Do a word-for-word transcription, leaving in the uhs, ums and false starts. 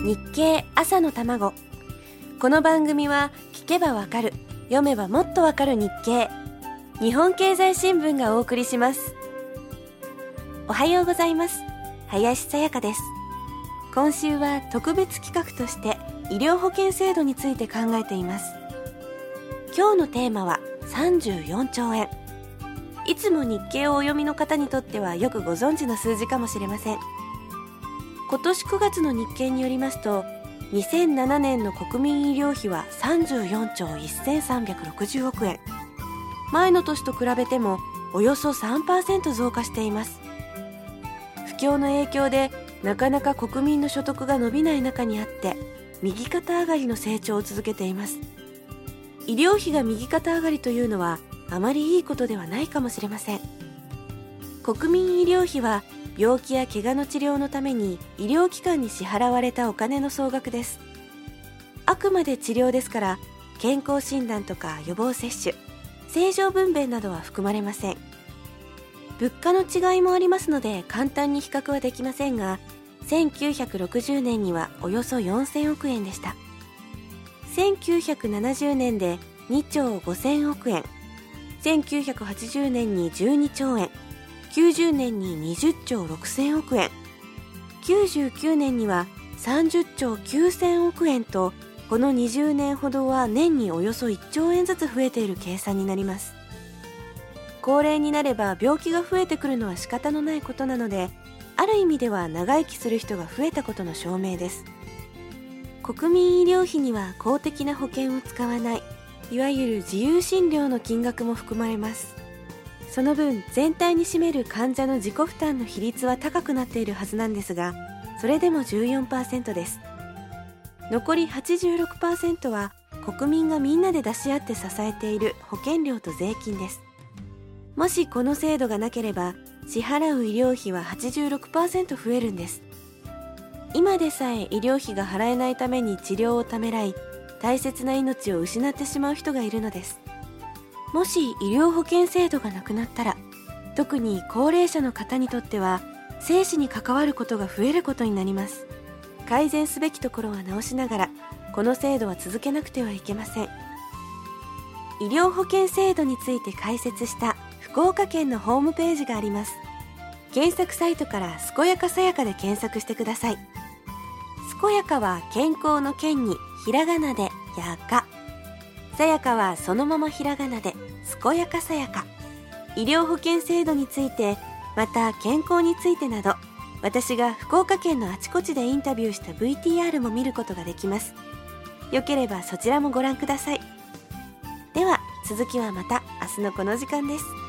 日経朝の卵。この番組は聞けばわかる、読めばもっとわかる日経、日本経済新聞がお送りします。おはようございます。林さやかです。今週は特別企画として医療保険制度について考えています。今日のテーマはさんじゅうよんちょうえん。いつも日経をお読みの方にとってはよくご存知の数字かもしれません。今年くがつの日経によりますと、にせんななねんの国民医療費はさんじゅうよんちょうせんさんびゃくろくじゅうおくえん。前の年と比べてもおよそ さんパーセント 増加しています。不況の影響でなかなか国民の所得が伸びない中にあって、右肩上がりの成長を続けています。医療費が右肩上がりというのはあまりいいことではないかもしれません。国民医療費は病気や怪我の治療のために医療機関に支払われたお金の総額です。あくまで治療ですから、健康診断とか予防接種、正常分娩などは含まれません。物価の違いもありますので簡単に比較はできませんが、せんきゅうひゃくろくじゅうねんにはおよそよんせんおくえんでした。せんきゅうひゃくななじゅうねんでにちょうごせんおくえん、せんきゅうひゃくはちじゅうねんにじゅうにちょうえん、きゅうじゅうねんににじゅっちょうろくせんおくえん、きゅうじゅうきゅうねんにはさんじゅっちょうきゅうせんおくえんと、このにじゅうねんほどは年におよそいっちょうえんずつ増えている計算になります。高齢になれば病気が増えてくるのは仕方のないことなので、ある意味では長生きする人が増えたことの証明です。国民医療費には公的な保険を使わない、いわゆる自由診療の金額も含まれます。その分全体に占める患者の自己負担の比率は高くなっているはずなんですが、それでも じゅうよんパーセント です。残り はちじゅうろくパーセント は国民がみんなで出し合って支えている保険料と税金です。もしこの制度がなければ、支払う医療費は はちじゅうろくパーセント 増えるんです。今でさえ医療費が払えないために治療をためらい、大切な命を失ってしまう人がいるのです。もし医療保険制度がなくなったら、特に高齢者の方にとっては生死に関わることが増えることになります。改善すべきところは直しながら、この制度は続けなくてはいけません。医療保険制度について解説した福岡県のホームページがあります。検索サイトからすこやかさやかで検索してください。すこやかは健康の健にひらがなでやか、さやかはそのままひらがなで、すこやかさやか。医療保険制度について、また健康についてなど、私が福岡県のあちこちでインタビューした ブイティーアール も見ることができます。よければそちらもご覧ください。では続きはまた明日のこの時間です。